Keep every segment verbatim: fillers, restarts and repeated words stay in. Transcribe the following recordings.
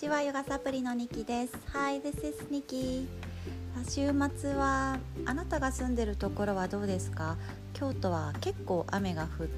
ちは、ヨガサプリのニキです。 Hi, this is Nikki。 週末はあなたが住んでるところはどうですか？京都は結構雨が降って、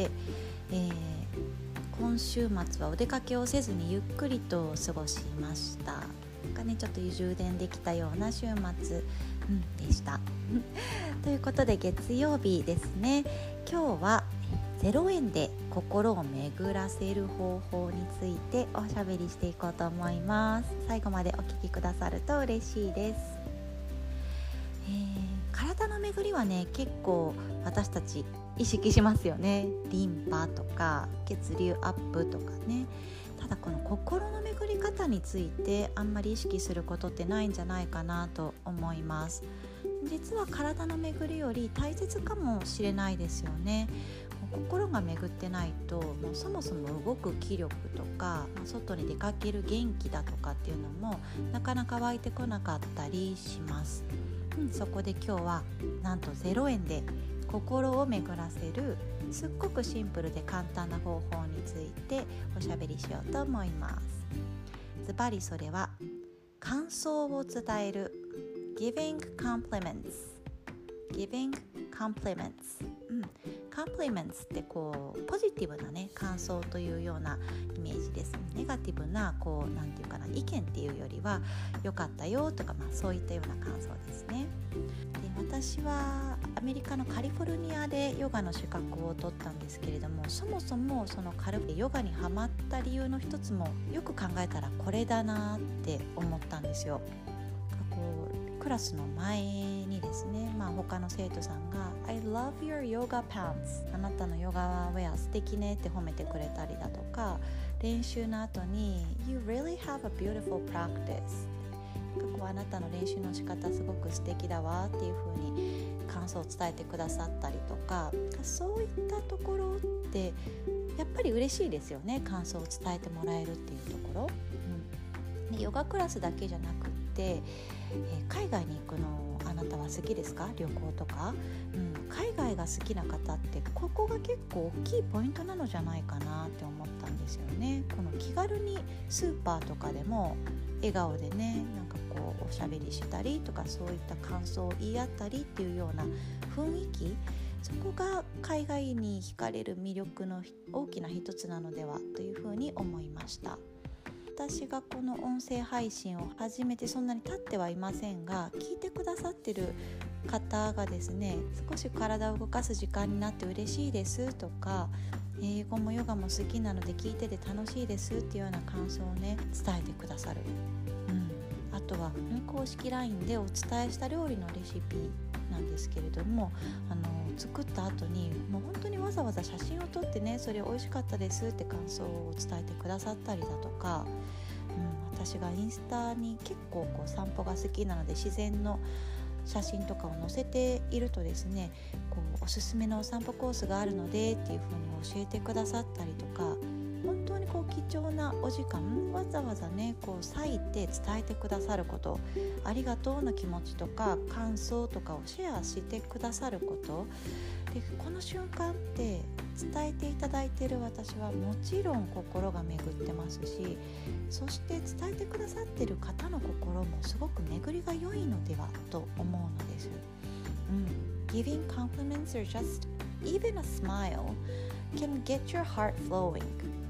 えー、今週末はお出かけをせずにゆっくりと過ごしました。なんかね、ちょっと充電できたような週末、うん、でしたということで月曜日ですね。今日はゼロえんで心を巡らせる方法についておしゃべりしていこうと思います。最後までお聞きくださると嬉しいです。えー、体の巡りはね、結構私たち意識しますよね。リンパとか血流アップとかね。ただこの心の巡り方についてあんまり意識することってないんじゃないかなと思います。実は体の巡りより大切かもしれないですよね。心が巡ってないと、もうそもそも動く気力とか、まあ、外に出かける元気だとかっていうのもなかなか湧いてこなかったりします、うん、そこで今日はなんとゼロえんで心を巡らせるすっごくシンプルで簡単な方法についておしゃべりしようと思います。ズバリそれは感想を伝える Giving compliments Giving compliments、うん、compliments ってこうポジティブなね感想というようなイメージです。ネガティブなこうなんていうかな意見っていうよりは良かったよとか、まあ、そういったような感想ですね。で、私はアメリカのカリフォルニアでヨガの資格を取ったんですけれども、そもそもその軽くヨガにハマった理由の一つもよく考えたらこれだなって思ったんですよ。こうクラスの前にですね、まあ、他の生徒さんが I love your yoga pants あなたのヨガウェア素敵ねって褒めてくれたりだとか、練習の後に You really have a beautiful practice こうあなたの練習の仕方すごく素敵だわっていう風に感想を伝えてくださったりとか、そういったところってやっぱり嬉しいですよね。感想を伝えてもらえるっていうところ、うん、でヨガクラスだけじゃなくってえー、海外に行くのあなたは好きですか？旅行とか、うん、海外が好きな方ってここが結構大きいポイントなのじゃないかなって思ったんですよね。この気軽にスーパーとかでも笑顔でね、なんかこうおしゃべりしたりとか、そういった感想を言い合ったりっていうような雰囲気、そこが海外に惹かれる魅力の大きな一つなのではというふうに思いました。私がこの音声配信を始めてそんなに経ってはいませんが、聞いてくださってる方がですね、少し体を動かす時間になって嬉しいですとか、英語もヨガも好きなので聞いてて楽しいですっていうような感想をね伝えてくださる、うん、あとは公式 ライン でお伝えした料理のレシピなんですけれども、あの作った後にもう本当にわざわざ写真を撮ってね、それ美味しかったですって感想を伝えてくださったりだとか、うん、私がインスタに結構こう散歩が好きなので自然の写真とかを載せているとですね、こうおすすめのお散歩コースがあるのでっていう風に教えてくださったりとか、本当にこう貴重なお時間わざわざねこう割いて伝えてくださること、ありがとうの気持ちとか感想とかをシェアしてくださることで、この瞬間って伝えていただいている私はもちろん心が巡ってますし、そして伝えてくださっている方の心もすごく巡りが良いのではと思うのです、うん、Giving compliments or just even a smile can get your heart flowing,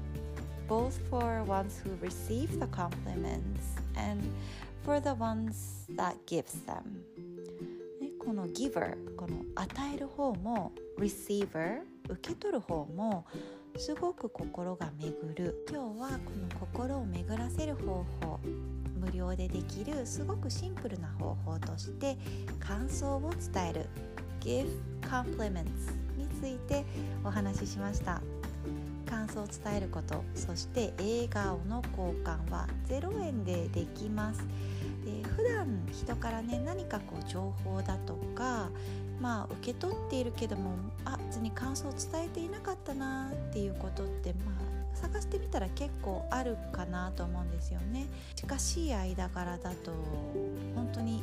both for ones who receive the compliments and for the ones that gives them。この giver、 この与える方も receiver、 受け取る方もすごく心が巡る。今日はこの心を巡らせる方法、無料でできるすごくシンプルな方法として感想を伝える give compliments についてお話ししました。感想を伝えること、そして笑顔の交換はゼロえんでできます。で、普段人からね何かこう情報だとか、まあ受け取っているけども、あ、別に感想を伝えていなかったなっていうことって、まあ探してみたら結構あるかなと思うんですよね。近しい間柄だと本当に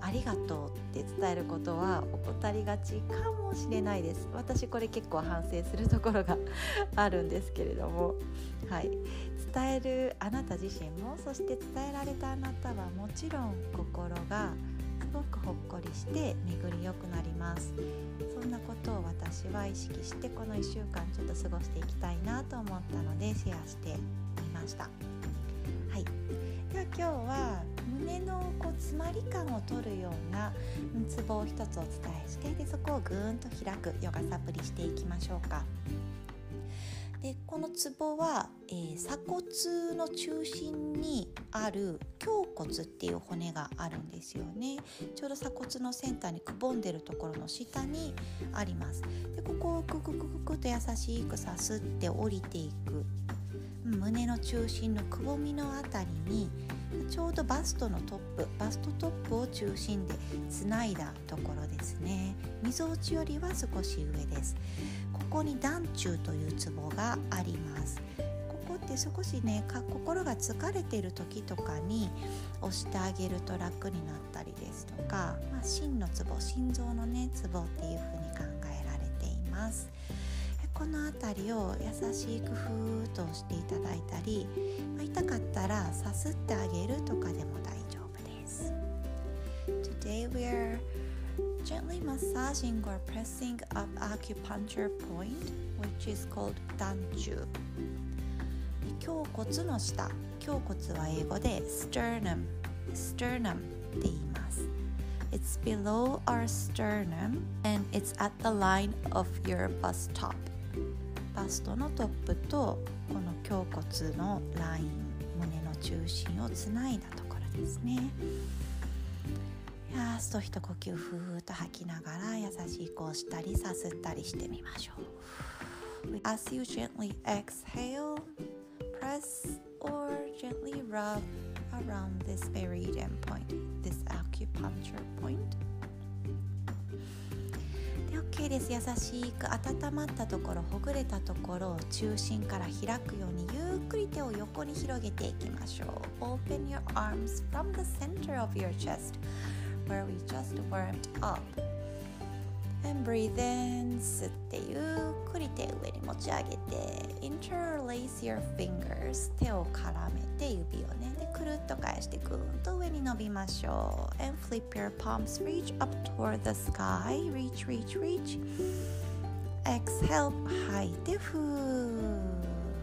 ありがとうって伝えることは怠りがちかもしれないです。私これ結構反省するところがあるんですけれども、はい、伝えるあなた自身も、そして伝えられたあなたはもちろん心がすごくほっこりして巡りよくなります。そんなことを私は意識してこのいっしゅうかんちょっと過ごしていきたいなと思ったのでシェアしてみました。はい、では今日は胸のこう詰まり感を取るようなツボを一つお伝えして、でそこをぐーんと開くヨガサプリしていきましょうか。でこのツボは、えー、鎖骨の中心にある胸骨っていう骨があるんですよね。ちょうど鎖骨のセンターにくぼんでるところの下にあります。でここをクククククと優しくさすって降りていく、胸の中心のくぼみのあたりにちょうどバストのトップバストトップを中心でつないだところですね。みぞおちよりは少し上です。ここに団中というツボがあります。ここって少しね心が疲れている時とかに押してあげると楽になったりですとか、まあ、心のツボ心臓のねツボっていうふうに考えられています。このあたりを優しくふーっと押していただいたり、まあ、痛かったらさすってあげるとかでも大丈夫です。 Today we are gently massaging or pressing up acupuncture point which is called 団中。胸骨の下、胸骨は英語で sternum sternum って言います。It's below our sternum and it's at the line of your bust top。バストのトップとこの胸骨のライン、胸の中心をつないだところですね。やーすと一呼吸ふーっと吐きながら優しく押したりさすったりしてみましょう。 As you gently exhale, press or gently rub around this meridian point, this acupuncture point。OK です。優しく温まったところ、ほぐれたところを中心から開くようにゆっくり手を横に広げていきましょう。 Open your arms from the center of your chest where we just warmed up and breathe in。 吸ってゆっくり手上に持ち上げて Interlace your fingers。 手を絡めて指をねでくるっと返してぐーんと上に伸びましょう。 And flip your palms, reach up toward the sky。 Reach, reach, reach。 Exhale。 吐いてふー。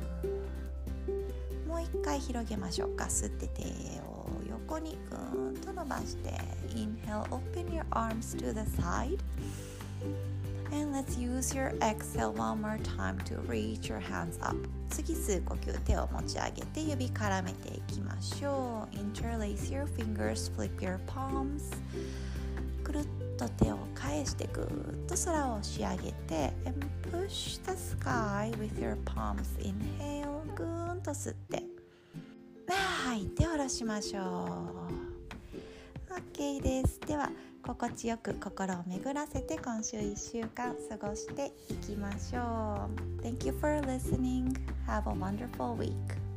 もう一回広げましょうか。吸って手を横にぐーんと伸ばして Inhale, open your arms to the side and let's use your exhale one more time to reach your hands up。 次吸う呼吸、手を持ち上げて指絡めていきましょう。 Interlace your fingers, flip your palms。 くるっと手を返してぐーっと空を押し上げて and push the sky with your palms。 Inhale。 ぐーんと吸って吐いて下ろしましょう。 OK です。では心地よく心を巡らせて今週いっしゅうかん過ごしていきましょう。 Thank you for listening. Have a wonderful week.